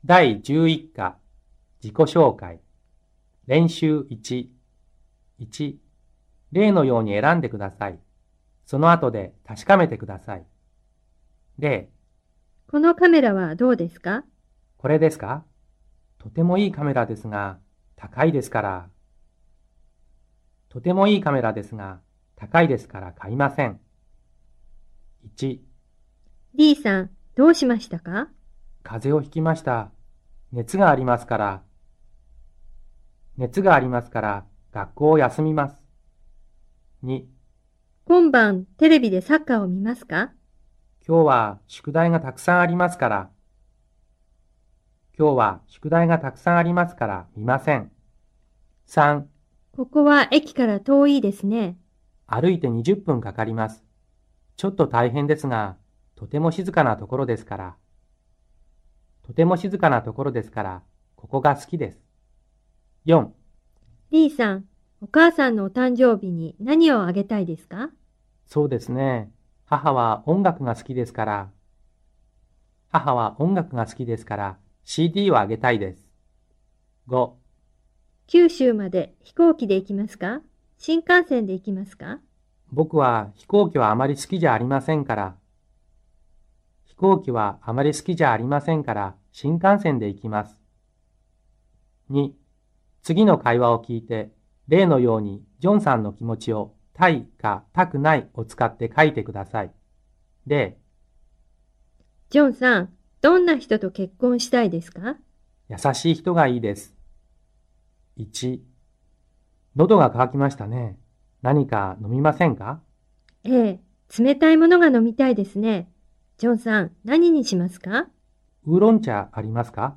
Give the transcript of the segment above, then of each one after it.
第11課自己紹介練習1、1、例のように選んでください。その後で確かめてください。例、 このカメラはどうですか？ これですか？とてもいいカメラですが、高いですから。とてもいいカメラですが、高いですから買いません。1、 D さん、どうしましたか？ 風邪をひきました。熱がありますから、学校を休みます。2、 今晩テレビでサッカーを見ますか？ 今日は宿題がたくさんありますから、見ません。3、 ここは駅から遠いですね。 歩いて20分かかります。ちょっと大変ですが、とても静かなところですから、ここが好きです。4、 D さん、お母さんのお誕生日に何をあげたいですか？ そうですね。母は音楽が好きですから、CD をあげたいです。5、 九州まで飛行機で行きますか？新幹線で行きますか？ 僕は飛行機はあまり好きじゃありませんから、新幹線で行きます。2、次の会話を聞いて、例のようにジョンさんの気持ちをたいかたくないを使って書いてください。例、 ジョンさん、どんな人と結婚したいですか？ 優しい人がいいです。1、喉が渇きましたね。何か飲みませんか？ ええ、冷たいものが飲みたいですね。ジョンさん、何にしますか？ ウーロン茶ありますか？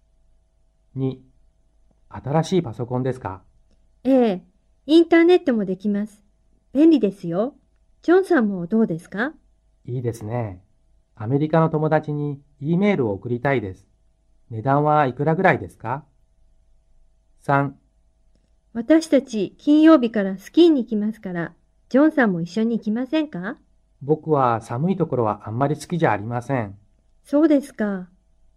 2、新しいパソコンですか？ ええ、インターネットもできます。便利ですよ。ジョンさんもどうですか？ いいですね。アメリカの友達に E メールを送りたいです。値段はいくらぐらいですか？ 3、 私たち金曜日からスキーに行きますから、ジョンさんも一緒に行きませんか？ 僕は寒いところはあんまり好きじゃありません。 そうですか。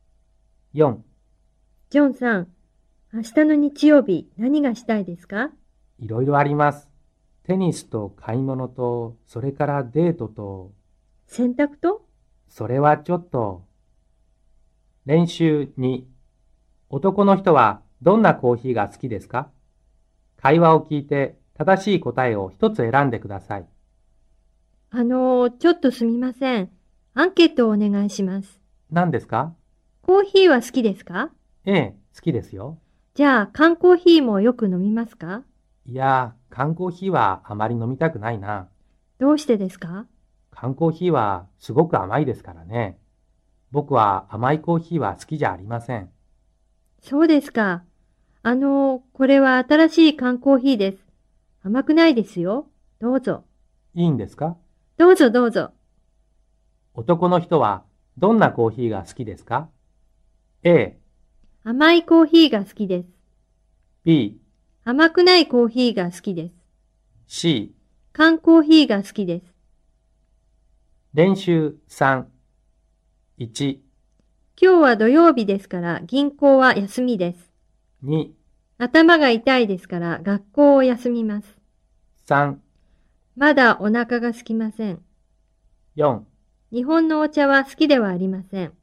4、 ジョンさん、明日の日曜日何がしたいですか？ いろいろあります。テニスと買い物と、それからデートと、 洗濯とそれはちょっと。練習2、男の人はどんなコーヒーが好きですか？会話を聞いて正しい答えを一つ選んでください。 ちょっとすみません。アンケートをお願いします。 何ですか？ コーヒーは好きですか？ ええ、好きですよ。 じゃあ、缶コーヒーもよく飲みますか？ いや、缶コーヒーはあまり飲みたくないな。 どうしてですか？ 缶コーヒーはすごく甘いですからね。僕は甘いコーヒーは好きじゃありません。 そうですか。これは新しい缶コーヒーです。甘くないですよ。どうぞ。 いいんですか？ どうぞどうぞ。 男の人はどんなコーヒーが好きですか？ A、 甘いコーヒーが好きです。 B、 甘くないコーヒーが好きです。 C。 缶コーヒーが好きです。 練習3、1、 今日は土曜日ですから銀行は休みです。 2、 頭が痛いですから学校を休みます。 3、 まだお腹が空きません。 4。 日本のお茶は好きではありません。